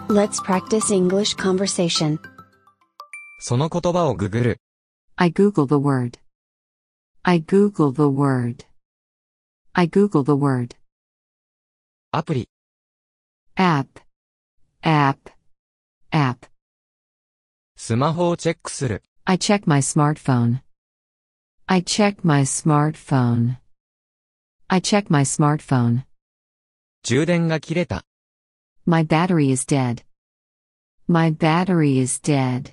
Let's practice English conversation. その言葉をググる。 I Google the word. I Google the word. I Google the word. アプリ、 App. App. App. スマホをチェックする。 I check my smartphone. I check my smartphone. I check my smartphone. 充電が切れた。 My battery is dead. My battery is dead.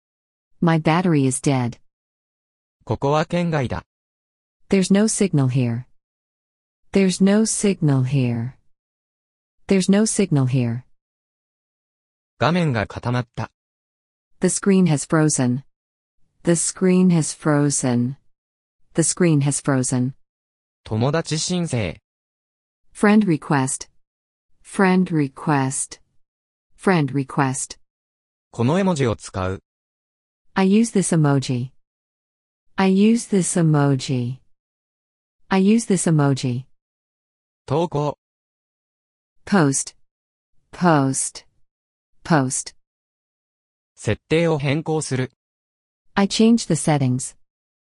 My battery is dead. ここは県外だ。 There's no signal here. There's no signal here. There's no signal here. 画面が固まった。 The screen has frozen. The screen has frozen. The screen has frozen. 友達申請。 Friend request. Friend request. Friend request. この絵文字を使う。 I use this emoji. I use this emoji. I use this emoji. 投稿。 Post. Post. Post. 設定を変更する。 I change the settings.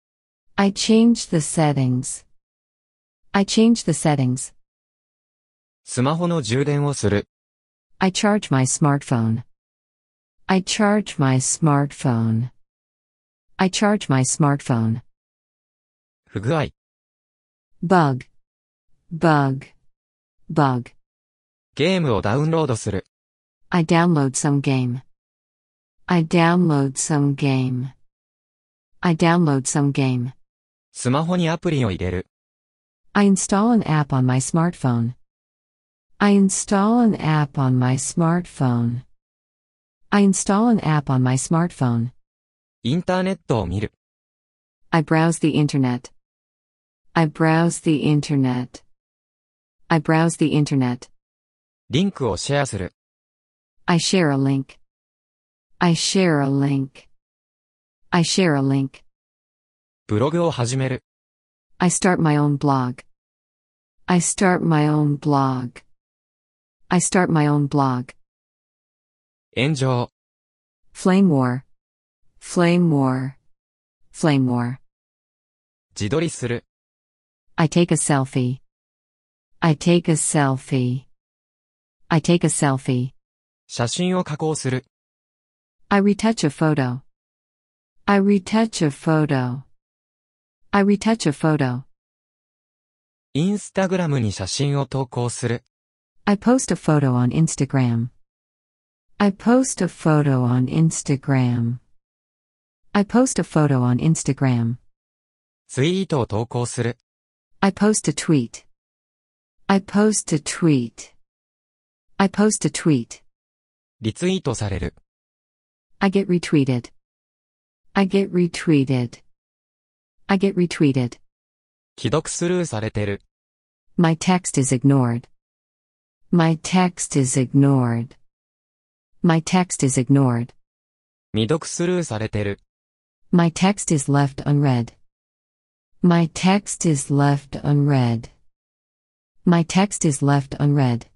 I change the settings. I change the settings. スマホの充電をする。 I charge my smartphone. I charge my smartphone. I charge my smartphone. 不具合。 Bug. Bug. Bug. ゲームをダウンロードする。 I download some game. I download some game. I download some game. スマホにアプリを入れる。 I install an app on my smartphone. I install an app on my smartphone. I install an app on my smartphone. インターネットを見る。 I browse the internet. I browse the internet. I browse the internet. リンクをシェアする。 I share a link. I share a link. I share a link. ブログを始める。 I start my own blog. I start my own blog. I start my own blog. 炎上。 Flame war. Flame war. Flame war. 自撮りする。 I take a selfie. I take a selfie. I take a selfie. 写真を加工する。 I retouch a photo. I retouch a photo. I retouch a photo. インスタグラムに写真を投稿する。 I post a photo on Instagram. I post a photo on Instagram. I post a photo on Instagram. ツイートを投稿する。 I post a tweet. I post a tweet. I post a tweet. リツイートされる。 I get retweeted. I get retweeted. I get retweeted. 既読スルーされてる。 My text is ignored. My text is ignored. My text is ignored. 未読スルーされてる。 My text is left unread. My text is left unread. My text is left unread.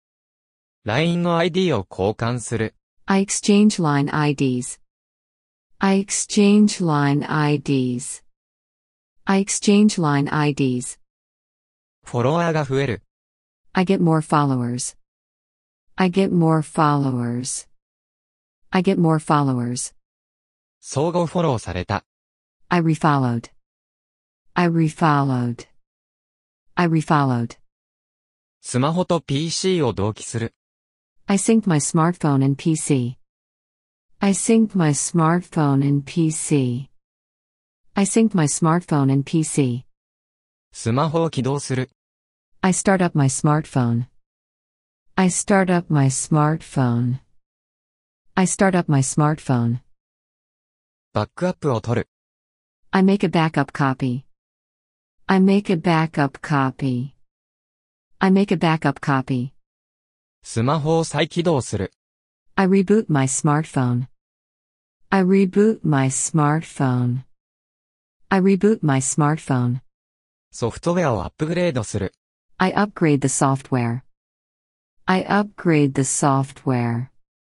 LINE の ID を交換する。 I exchange line IDs. I exchange line IDs. I exchange line IDs. フォロワーが増える。 I get more followers. I get more followers. I get more followers. 相互フォローされた。 I refollowed. I refollowed. I refollowed. スマホと PC を同期する。 I synced my smartphone and PC. I synced my smartphone and PC. I synced my smartphone and PC. スマホを起動する。 I start up my smartphone. I start up my smartphone. I start up my smartphone. バックアップを取る。 I make a backup copy. I make a backup copy. I make a backup copy. スマホを再起動する。 I reboot my smartphone. I reboot my smartphone. I reboot my smartphone. ソフトウェアをアップグレードする。 I upgrade the software. I upgrade the software.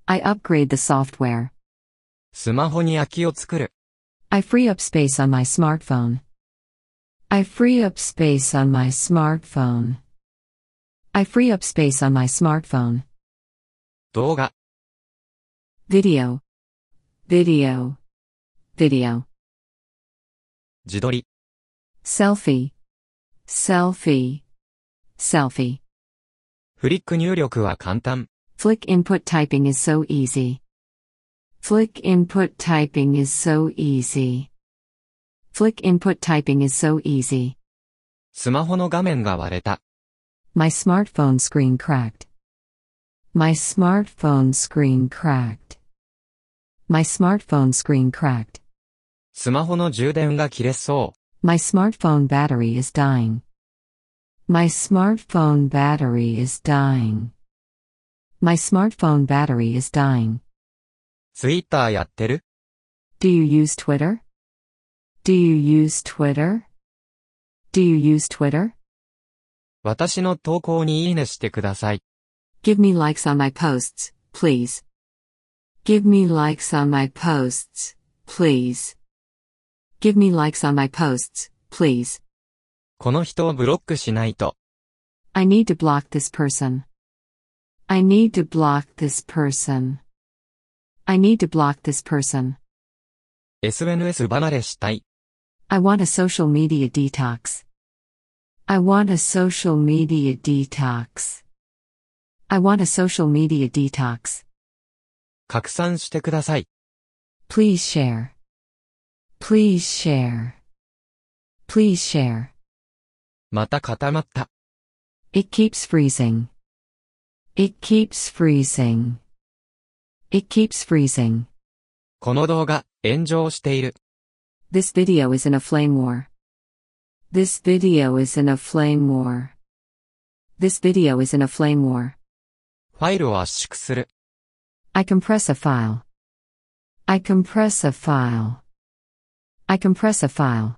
I upgrade the software. スマホに空きを作る。 I free up space on my smartphone. I free up space on my smartphone. I free up space on my smartphone. 動画。 Video. Video. Video. 自撮り。 Selfie. Selfie. Selfie. フリック入力は簡単。 Flick input typing is so easy. Flick input typing is so easy. Flick input typing is so easy. スマホの画面が割れた。 My smartphone screen cracked. My smartphone screen cracked. My smartphone screen cracked. スマホの充電が切れそ My smartphone battery is dying. My smartphone battery is dying. My smartphone battery is dying. う。ツイッターやってる？ Do you use Twitter? Do you use Twitter? Do you use Twitter? 私の投稿にいいねしてください。 Give me likes on my posts, please. Give me likes on my posts, please. Give me likes on my posts, please. この人をブロックしないと。 I need to block this person. I need to block this person. I need to block this person. SNS 離れしたい。 I want a social media detox. I want a social media detox. I want a social media detox. 拡散してください。 Please share. Please share. Please share. また固まった。 It keeps freezing. It keeps freezing. It keeps freezing. この動画、炎上している。 This video is in a flame war. This video is in a flame war. This video is in a flame war. ファイルを圧縮する。 I compress a file. I compress a file. I compress a file.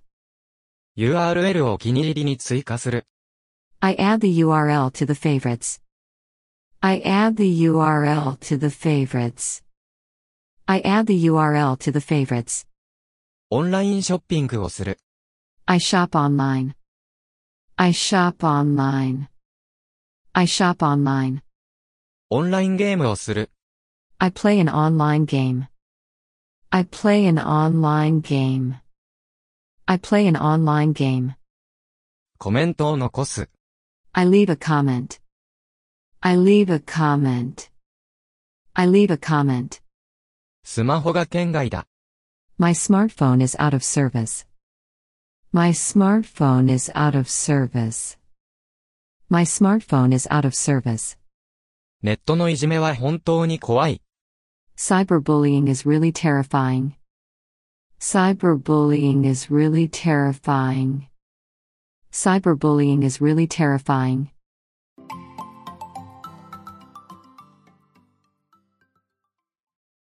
URL をお気に入りに追加する。 I add the URL to the favorites. I add the URL to the favorites. I add the URL to the favorites. オンラインショッピングをする。 I shop online. I shop online. I shop online. オンラインゲームをする。 I play an online game. I play an online game. I play an online game. コメントを残す。 I leave a comment. I leave a comment. I leave a comment. スマホが圏外だ。 My smartphone is out of service. My smartphone is out of service. My smartphone is out of service. ネットのいじめは本当に怖い。 Cyberbullying is really terrifying. Cyberbullying is really terrifying. Cyberbullying is really terrifying.